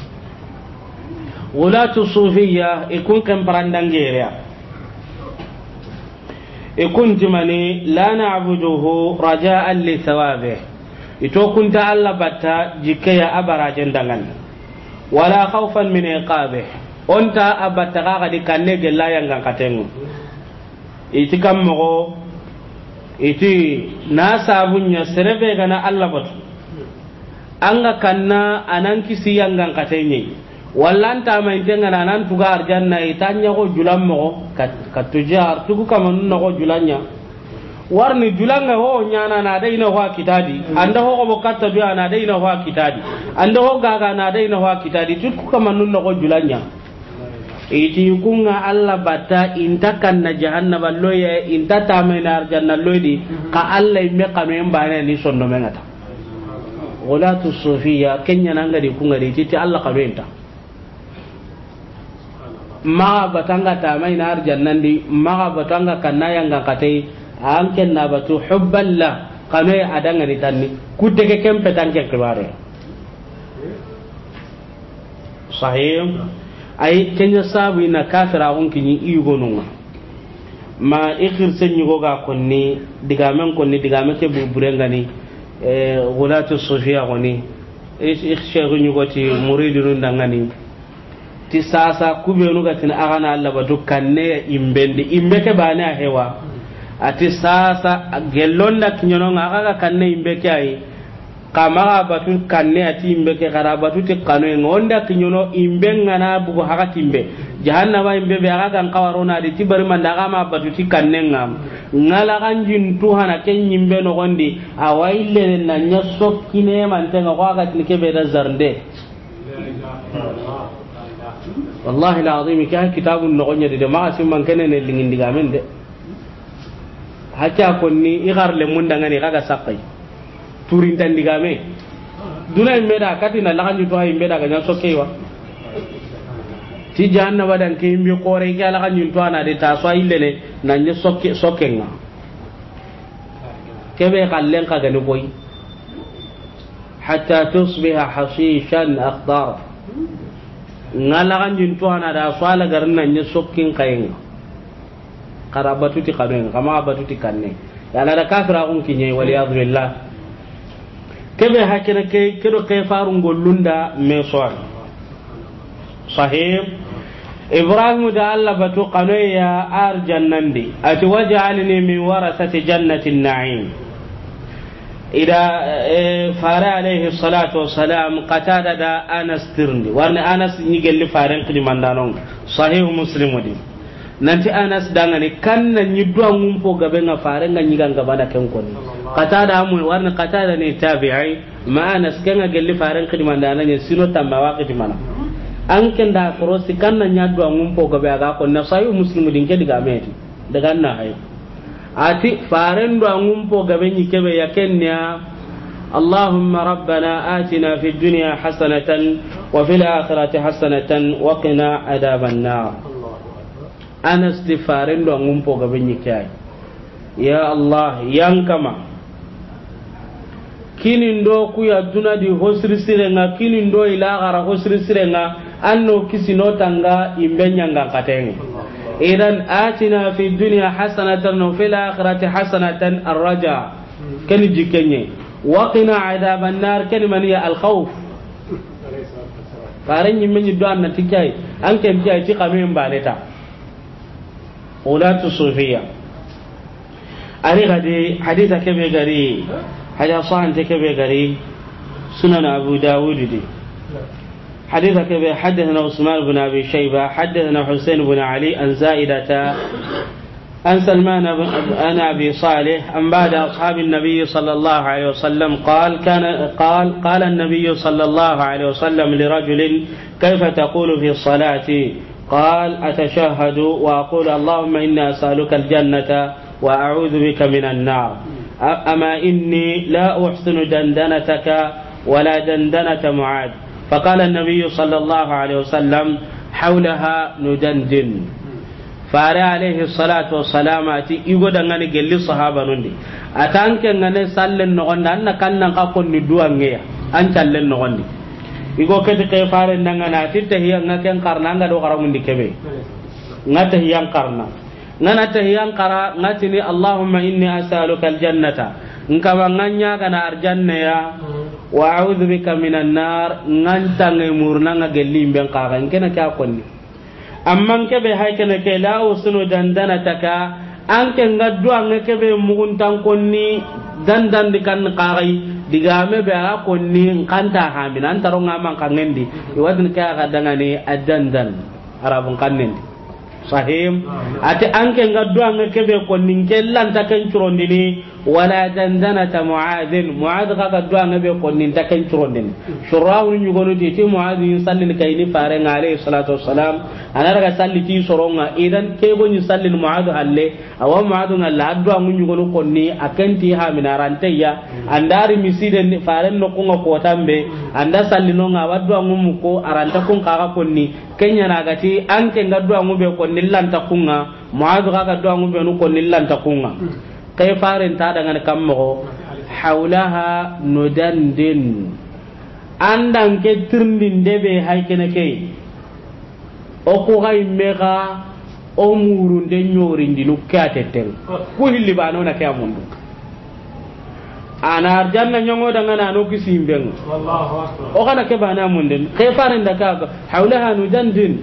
A: wala sufiyya ikun kan parandangere ikun timani la na'buduhu raja'an li thawabihi ito kunta Allah batta jikaya abarajen dangan wala khawfan min iqabih onta abattaga ga dikanne gella yang katengo iti kammo iti na sabunya serebe gana Allah batu anga kanna anan kisi yang katenye wallanta mai tenga nan tuga arjanna itanya ko julammo katujar tugu kamanun ko julanya warni julanga ho nyana na dai na wa kitadi anda ho ko bokatta biya na dai na wa kitadi anda ho gaga na dai na wa kitadi tugu kamanun ko julanya iti kunga alla bata intakan na jahannaba loye intata mai na arjanna loydi ka alla me kanu en bana ni sonno mengata wala tu sufiya kenya nanga di kunga di titi alla kanu enta ma batanga ta mai na arjannan di ma batanga kanaya nga katai an kenna batu hubballa kanu adanga ni tanni kudde kempe tanke kibare sahih ay kenya sabu ina kafira on kini igonunga ma ikhir senyugo ga konni digamen ke buburenga ni gulatu sufia koni sheikhu nyugoti muridun dangani ti sasa kubenu gatin agana alla batu kanne imbeke bana hewa ati sasa gelonda kinyono aga kanne imbeke ai kama batu kanne ati imbeke gara batu te kanu ngonda kinyono imbenga na bugo haga timbe jahannama imbe be aga kan kawarona di tibari manda kama batu ti kanne ngam ngala kanjin tuhana ken nyimbe no gondi awaile na nyaso kine man tenga ko aga tinike be da zarnde wallahi alazim ka kitabun no gonya de ma sim man kenene lingin diga men de hacha konni igar le munda ngani kaga sakai turin tan diga me duna meda katina laganju to hay meda ga nyaso kewa ti janna wadan ke mbi kore ke ala kanyu to ana de ta so ilele na nye sokenga kebe kallen ka gani boy hatta tusbiha hashishan akhdar ngala kanyu to ana da so ala garna nye sokin kayenga karabatu ti kaneng kama abatu ti kanne yana da kafira kun kinye wali azbillah kebe hakira ke kedo ke farun gollunda me soal sahih ibrahim da Allah batu qanoya arjannandi ati waj'alni min warasati jannati an-na'im ida fara alayhi salatu wassalam qatada da anas tirndi warne anas ni gelli faran kilimandanon sahih muslim wadi nanti anas dangane kanna nyi duangum po gabe nga faran nga nyi ganga bana ken koni qatada mu warne qatada ne tabi'i ma anas kenga gelli faran kilimandanan ne sino tamma waqti mana an kenda korosi kanna nyaddu angum po gabe aga ko na sayu muslimu din ke diga meti daga na hay ati farendo angum po gabe ni kebe yakenya allahumma rabbana atina fid dunya hasanatan wa fil akhirati hasanatan wa qina adhaban nar anas ti farendo angum po gabe ni kai ya allah yang kama kinin do ku ya dunadi hosri sirenga kinin do ila gara hosri sirenga anno kisino tanga imbenya nga kateng idan atina fi dunya hasanatan wa fil akhirati hasanatan arraja kan jikenye wa qina adaban nar kan maniya al khawf faran yimmen do an tikai an kan tikai ti kamen baleta ulatu sufiya ari gadi haditha kebe gari hada sahan kebe gari sunan abu daud di حديث كبير حدثنا عثمان بن أبي شيبة حدثنا حسين بن علي عن زائدة عن سلمان بن أبي صالح عن بعد أصحاب النبي صلى الله عليه وسلم قال النبي صلى الله عليه وسلم لرجل كيف تقول في الصلاة قال أتشهد وأقول اللهم إني أسألك الجنة وأعوذ بك من النار أما إني لا أحسن دندنتك ولا دندنة معاذ فقال النبي صلى الله عليه وسلم حولها ندندن فاري عليه الصلاة والسلام يقول أنني قل لي صحابة نندي أتانك أنني سألن نغنى أنك أنك أكون ندوى أنك أنك ألن نغنى يقول كتك فاري أنك أتته أنك أنقرنا أنك دوغر من دي كبه نته ينقرنا نته ينقر نتني اللهم إني أسألك الجنة نكما ننيا كان أرجنة wa a'udhu bika minan nar nganta ngemurna ngagelim ben kaga ngena ka konni amman ke be haykene ke la usunu dandana taka anke ngaddu an ke be muguntan konni dandan dikan qagai digame be a konni kanta hamina antaro ngama kangendi iwadin ka ga dangane adandan arabun kannendi sahim ati anke ngaddu an ke be konni kellan taken curondini wala dandanata muadhin muadh ga gaddu an be konni taken curondini shurawu nyugonu ti muadhin sallin kayni fare ngale salatu wassalam anaraga salli ti soronga idan ke go ni sallin muadh halle awa muadh ngalla addu an nyugonu konni akenti ha minaranteya andari miside fare no kunga ko tambe anda sallino nga waddu an muko aranta kun kaga konni kenya nagati anke ngaddu an be konni lanta kunga muadh ga gaddu an be no konni lanta kunga kay faren ta daga kammo hawlaha nudandin andan ke tirndin debe haykene kay o ko gay mega o murun de nyori ndinu kateten ko hilli bano na kay amundu ana janna nyongo daga na no kisimben wallahu akbar o kana ke bana munden kay faren da ka hawlaha nudandin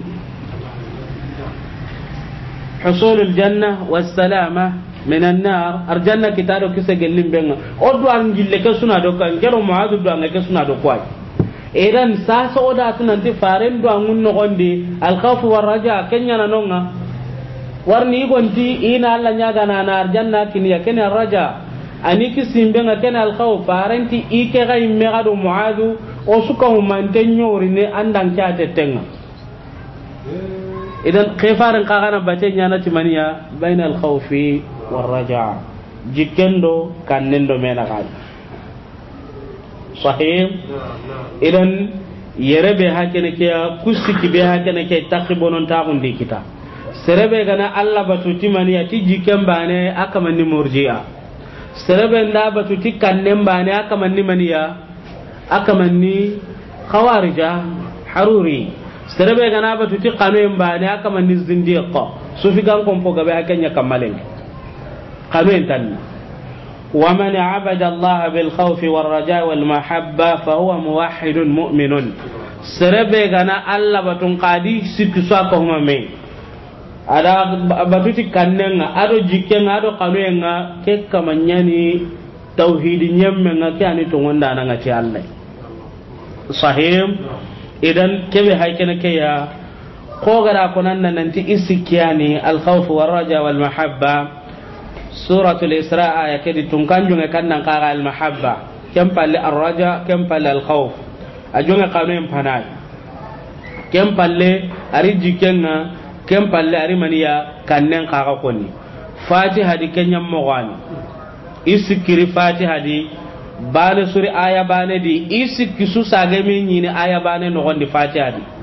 A: حصول الجنة والسلامة من النار أرجعنا كتارو كيسة جلين بينا أدو أنجيل كسونا دوكا إنجلو معاذ دو أنجيل كسونا دوكاي إيران ساس أودا أتنانتي فارن دو أنغون نغندي الخوف والرجاء كنيا نونغا warni gonti ina alla nyaga na arjanna kiniya ken arraja ani kisimbe nga ken alkhawf farenti ike ga imme gado muadu o suka humantenyo rine andang cha tetenga idan khifaran qagana batenya na timaniya baina alkhawfi warraja jikendo kannendo mena gal sahih idan yerebe hakene ke kusiki be hakene ke taqibonon ta gundi kita serebe gana alla batuti maniya ti jikembane akamanni murji'a serebe nda batuti kannembane akamanni maniya akamanni khawarija haruri serebe gana batuti qanembane akamanni zindiqa sufi gan kompo gabe hakenya kamalen qanwen tan ومن عبد الله بالخوف والرجاء والمحبة فهو موحد مؤمن سربي غنا الله بتون قادي سكساكهم مي ada batuti kannenga ado jikenga ado kanwenga ke kamanyani tauhid nyemmenga ke ani to wonda nanga ci Allah sahih idan kebe haykene ke ya ko gara konan nanti isikiyani al khawf war raja wal mahabba suratul isra aya kedi tunkanjunga kannan qara al mahabba kem palle ar raja kem palle al khawf ajonga kanwen panay kem palle ari jikenga kem palle ari maniya kannen kaga konni fatiha di kenyam mogani isikiri fatiha di bane suri aya bane di isikisu sage min nyini aya bane no gondi fatiha di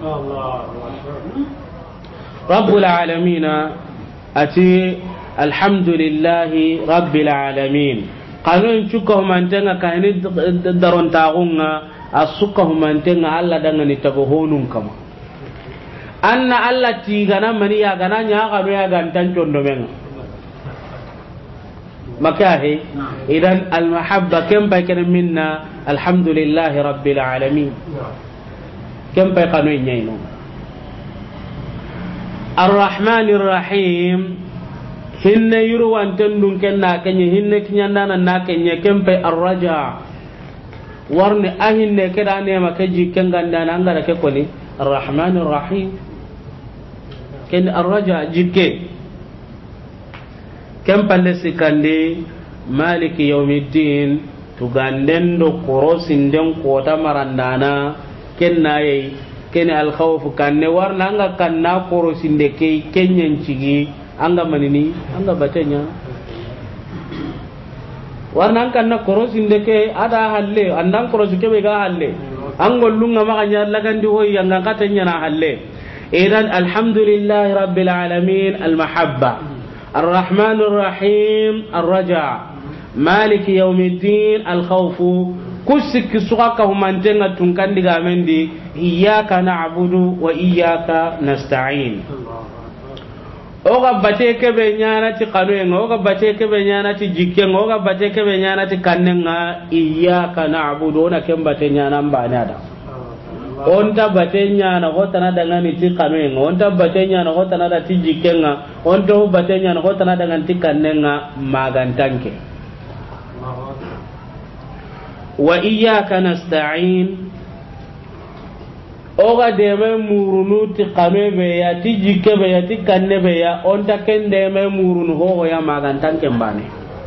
A: rabbul alamin ati alhamdulillahi rabbil alamin kanun cuko mantenga kahini daron tagunga asuka mantenga alla dangani tago honun kama anna alla tigana mani ya gana nya ga do ya gantan condo men makahe idan al mahabba kam ba kana minna alhamdulillah rabbil alamin kam ba kanu nyayno arrahmanir rahim hinne yurwan tandun kenna kanye hinne kinyanda na kanye kam ba arraja warni ahinne keda ne makaji kenganda na ngara ke koni arrahmanir rahim ken arraja jikke kem palle sikande maliki yawmiddin tuganden do korosin den kota marandana ken nayi ken al khawf kanne warna anga kanna korosin de ke kenyen cigi anga manini anga batenya warna kanna korosin de ke ada halle andan korosi ke be ga halle angol lunga maganya lagandi hoyi anga katenya na halle إذن الحمد لله رب العالمين المحبة الرحمن الرحيم الرجاء مالك يوم الدين الخوف كسك سقاكهم من جنة تنكن دي إياك نعبد وإياك نستعين oga bate ke be nyana ti kanuen oga bate ke be nyana ti jikken oga bate ke be nyana ti kannenga iyyaka na'budu na kem bate nyana mbana da onta bate nyana hotana dangani ti kanuen onta bate nyana hotana da ti jikkenga onta bate nyana hotana dangan ti kannenga magantanke wa iyyaka nasta'in oga deme murunu ti kame be ya ti jikke be ya ti kanne be ya onta ken deme murunu ho ya magantan kembane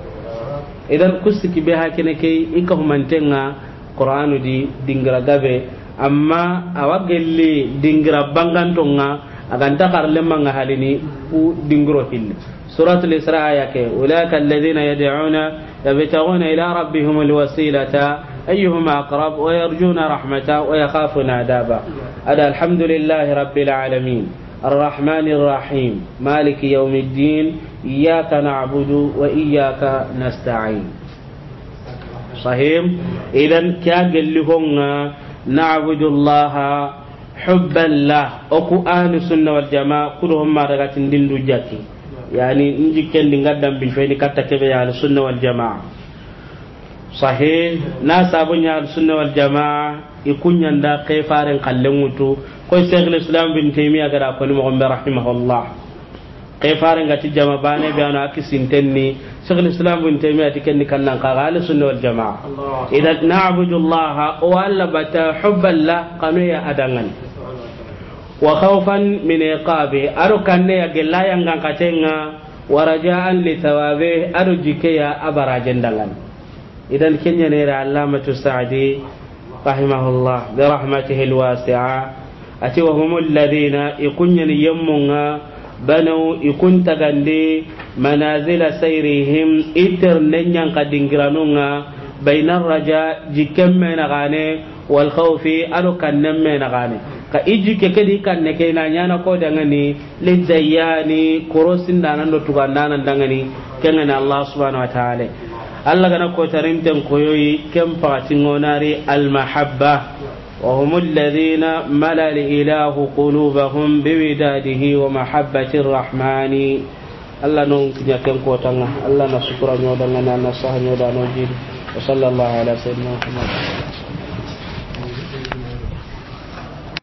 A: idan kusiki be hakene ke ikahumantenga qur'anu di dingra gabe amma awagelli dingra bangantonga aganta karle manga halini u dingro hilli suratul isra ayake ulaka alladhina yad'una yabtaguna ila rabbihim alwasilata أيهما أقرب ويرجون رحمته ويخافون عذابه هذا الحمد لله رب العالمين الرحمن الرحيم مالك يوم الدين إياك نعبد وإياك نستعين صحيح إذن كان لهم نعبد الله حبا له أكو أهل السنة والجماعة كلهم ما رغت دين جاكي يعني نجي كان نقدم بالفعل كتكبه على السنة والجماعة صحيح ناس أبني السنة والجماعة يكون يندا كيفارن قلموتو كوي شيخ الإسلام بن تيمية قال أقول مغمب رحمه الله كيفارن قتي جماعة باني بيانا أكي سنتني شيخ الإسلام بن تيمية تكني كان قال السنة والجماعة إذا نعبد الله وألا بتا حبا له قنويا أدنان وخوفا من عقابه أرو كان يقول لا ينغان قتنغا ورجاء لثوابه أرو جيكيا أبرا جندغان إذن كن ينير علامة السعدي رحمه الله برحمته الواسعة أتي وهم الذين يكون يمنا بنوا يكون تغندي منازل سيرهم إتر ننيان قد انقرانونا بين الرجاء جكم من غاني والخوف ألو كان من غاني كإجي كدي كان نكينا نانا كودغني للزياني كروسين دانا نتوغاندانا دغني كنن الله سبحانه وتعالى الله غنا كوتارينتن كويوي كم فاتينوناري المحبة وهم الذين ملأ الإله قلوبهم بوداده ومحبة الرحمن الله نون كنيا كم كوتانا الله نشكر نودانا نصح نودانا وصلى الله على سيدنا محمد